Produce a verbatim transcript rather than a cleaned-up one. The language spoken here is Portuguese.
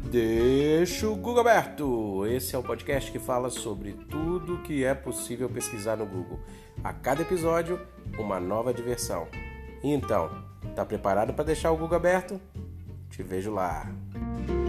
Deixa o Google aberto! Esse é o podcast que fala sobre tudo que é possível pesquisar no Google. A cada episódio, uma nova diversão. Então, tá preparado para deixar o Google aberto? Te vejo lá!